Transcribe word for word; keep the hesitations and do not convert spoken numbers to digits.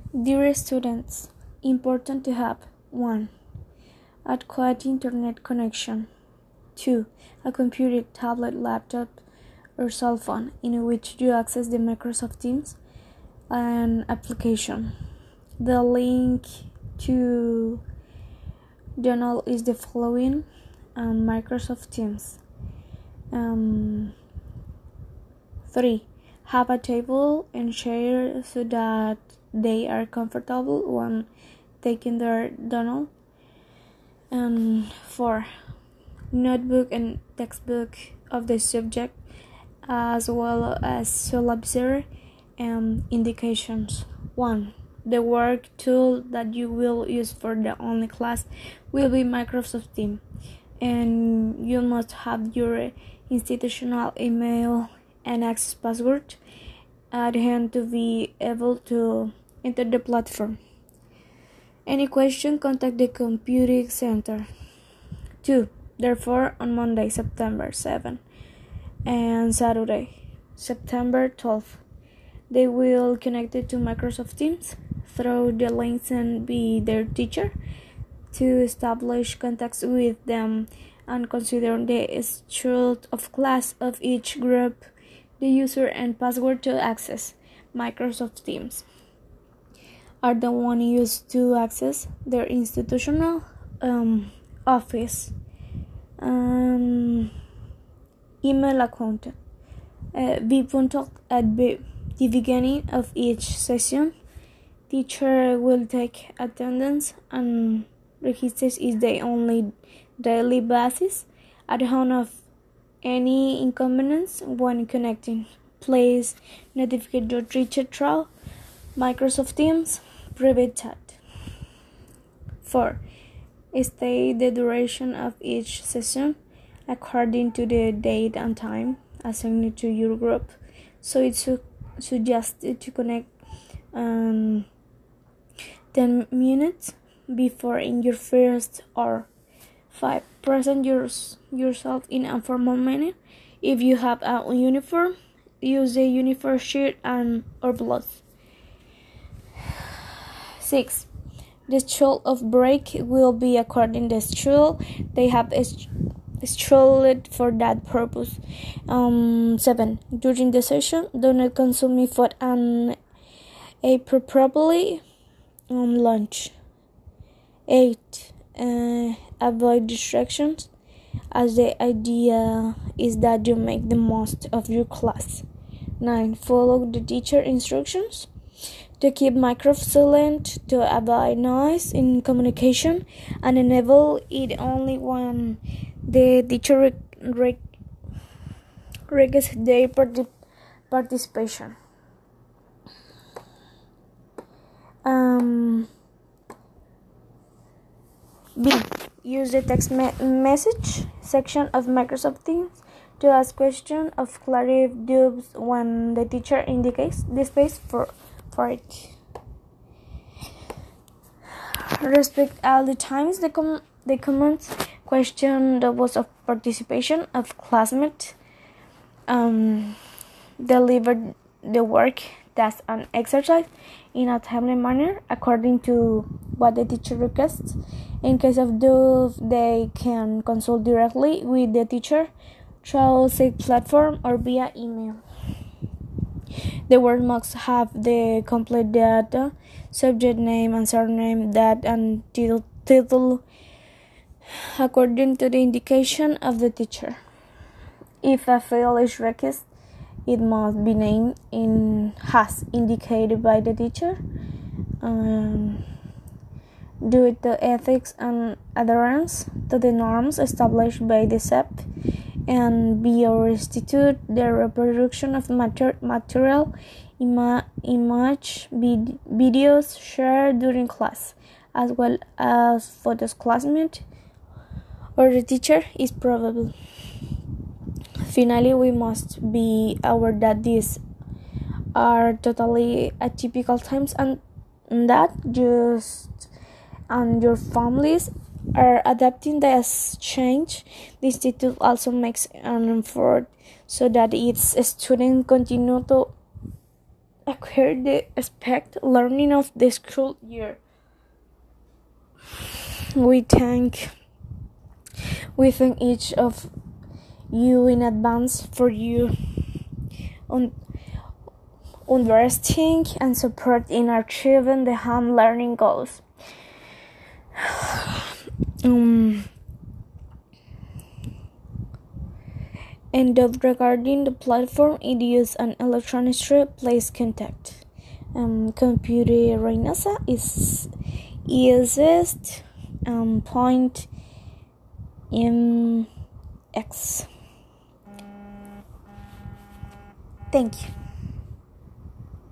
Dear students, important to have one. Adequate internet connection. two. A computer, tablet, laptop, or cell phone in which you access the Microsoft Teams and application. The link to journal is the following on Microsoft Teams. Um, three. Have a table and chair so that they are comfortable when taking their journal. And four. Notebook and textbook of the subject as well as syllabus and indications. one. The work tool that you will use for the online class will be Microsoft Teams, and you must have your institutional email and access password at hand to be able to enter the platform. Any question, contact the computing center. two. Therefore, on Monday, September seventh, and Saturday, September twelfth, they will connect it to Microsoft Teams through the links and be their teacher to establish contacts with them and consider the schedule of class of each group, the user and password to access Microsoft Teams are the one used to access their institutional um, office um, email account. Uh, be punctual at the beginning of each session. Teacher will take attendance and registers is the only daily basis at home of any inconvenience when connecting. Please notify your teacher through Microsoft Teams private chat. four. State the duration of each session according to the date and time assigned to your group. So it's su- suggested to connect um, ten minutes before in your first hour. five. Present yours, yourself in a formal manner. If you have a uniform, use the uniform shirt and or blouse. six. The schedule of break will be according to the schedule they have scheduled for that purpose. Um, seven. During the session, do not consume food and a properly on lunch. eight. Uh, avoid distractions, as the idea is that you make the most of your class. nine. Follow the teacher instructions to keep microphone silent, to avoid noise in communication, and enable it only when the teacher re- requests their partic- participation. Um, B. Use the text me- message section of Microsoft Teams to ask questions of clarity doubts when the teacher indicates the space for, for it. Respect all the times the, com- the comments question the was of participation of classmates. Um, deliver the work, task, and exercise in a timely manner according to what the teacher requests. In case of doubt, they can consult directly with the teacher through said platform or via email. The work must have the complete data, subject name and surname, date and title, title according to the indication of the teacher. If a field is requested, it must be named in as indicated by the teacher. Um, due to ethics and adherence to the norms established by the S E P, and be or restitute the reproduction of mater- material, ima- image, vid- videos shared during class, as well as photos classmate or the teacher is probable. Finally, we must be aware that these are totally atypical times and that just and your families are adapting the exchange. The institute also makes an effort so that its students continue to acquire the expect learning of the school year. We thank we thank each of you in advance for you on investing and support in achieving the home learning goals. Um, and regarding the platform, it is an electronic street, please contact. Um, computer Reynasa is easiest um, point in X. Thank you.